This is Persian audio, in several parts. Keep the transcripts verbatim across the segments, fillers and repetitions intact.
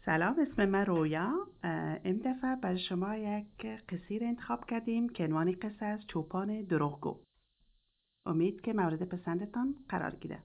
سلام، اسم من رویا. این دفعه برای شما یک قصه را انتخاب کردیم که عنوان قصه از چوپان دروغگو. امید که مورد پسندتان قرار گیره.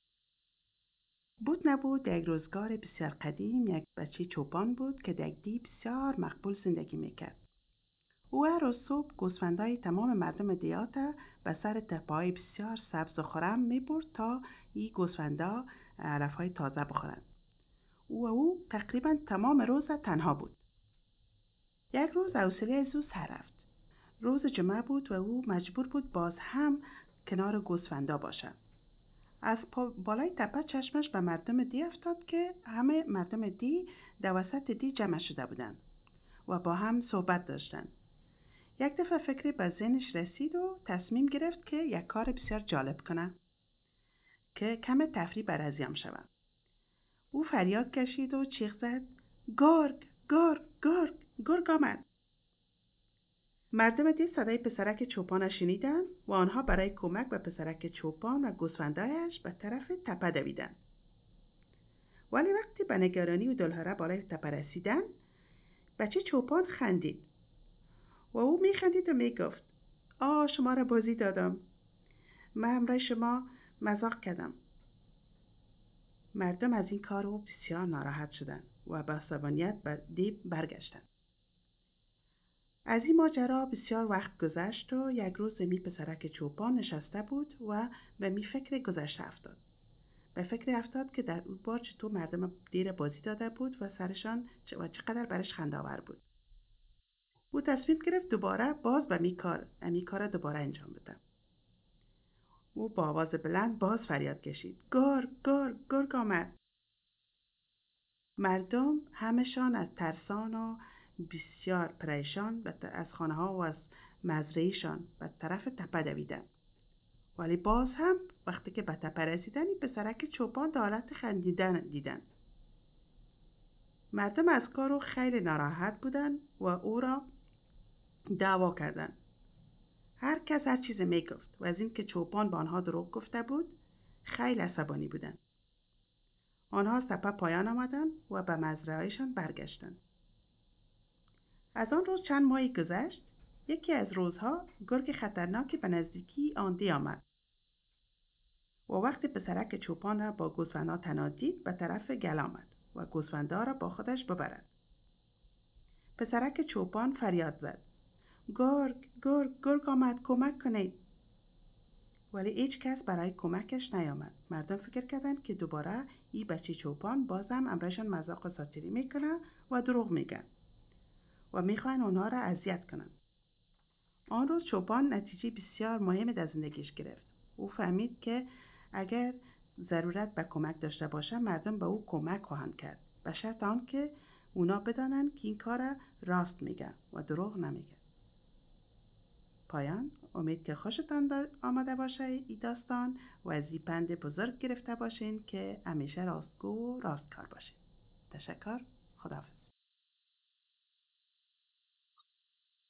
بود نبود یک روزگار بسیار قدیم یک بچه چوپان بود که در یک دی بسیار مقبول زندگی میکرد. او هر روز صبح گوسفندای تمام مردم دیات به سر تپه‌های بسیار سبز و خرم میبرد تا این گوسفندا علف‌های تازه بخورند. او و او تقریبا تمام روز تنها بود. یک روز حوصله از او سر رفت. روز جمعه بود و او مجبور بود باز هم کنار گوسفندا باشد. از بالای تپه چشمش به مردم دی افتاد که همه مردم دی در وسط دی جمع شده بودند و با هم صحبت داشتند. یک دفعه فکری به ذهنش رسید و تصمیم گرفت که یک کار بسیار جالب کنه که کم تفریح بر ازیام شود. او فریاد کشید و چیغ زد: گرگ، گرگ، گرگ، گرگ آمد. مردم دی صدای پسرک چوپان شنیدند و آنها برای کمک به پسرک چوپان و گوسفندایش به طرف تپه دویدند. ولی وقتی به نگرانی و دلهره بالای تپه رسیدند، بچه چوپان خندید و او میخندید و میگفت: آه، شما را بازی دادم. من همراه شما مزاق کردم. مردم از این کار او بسیار ناراحت شدند و با عصبانیت به دی برگشتند. از این ماجرا بسیار وقت گذشت و یک روز می پسرک چوپان نشسته بود و به می فکر گذشته افتاد. به فکر افتاد که در اون بار چطور مردم دیر بازی داده بود و سرشان و چقدر برش خنده‌آور بود. او تصمیم گرفت دوباره باز به می کار امی کار دوباره انجام بده. او با آواز بلند باز فریاد کشید: گرگ، گرگ، گرگ آمد. مردم همشان از ترسان و بسیار پریشان از خانه ها و از مزرعه‌شان به طرف تپه دویدند. ولی باز هم وقتی که به تپه رسیدن پسرک چوپان در حالت خندیدن دیدند. مردم از کارو خیلی ناراحت بودند و او را دعوا کردند. هر کس هر چیز میگفت و از این که چوپان به آنها دروغ گفته بود خیلی عصبانی بودند. آنها از تپه پایان آمدند و به مزرعه‌شان برگشتند. از آن روز چند ماهی گذشت. یکی از روزها گرگ خطرناکی به نزدیکی آن دی آمد و وقتی پسرک چوپان را با گوسفندها تنها دید به طرف گل آمد و گوسفندها را با خودش ببرد. پسرک چوپان فریاد زد: گرگ، گرگ، گرگ آمد، کمک کنید. ولی هیچ کس برای کمکش نیامد. مردم فکر کردند که دوباره این بچه چوپان بازم امرشان مذاق و ساتیری میکنه و دروغ میگن و میخواین اونها را اذیت کنن. آن روز چوپان نتیجه بسیار مهمی در زندگیش گرفت. او فهمید که اگر ضرورت به کمک داشته باشه مردم به او کمک خواهند کرد، به شرط آن که اونا بدانند که این کار راست میگه و دروغ نمیگه. پایان. امید که خوشتان آمده باشه این داستان و از این پند بزرگ گرفته باشین که همیشه راستگو و راستکار باشین. تشکر. خداحافظ.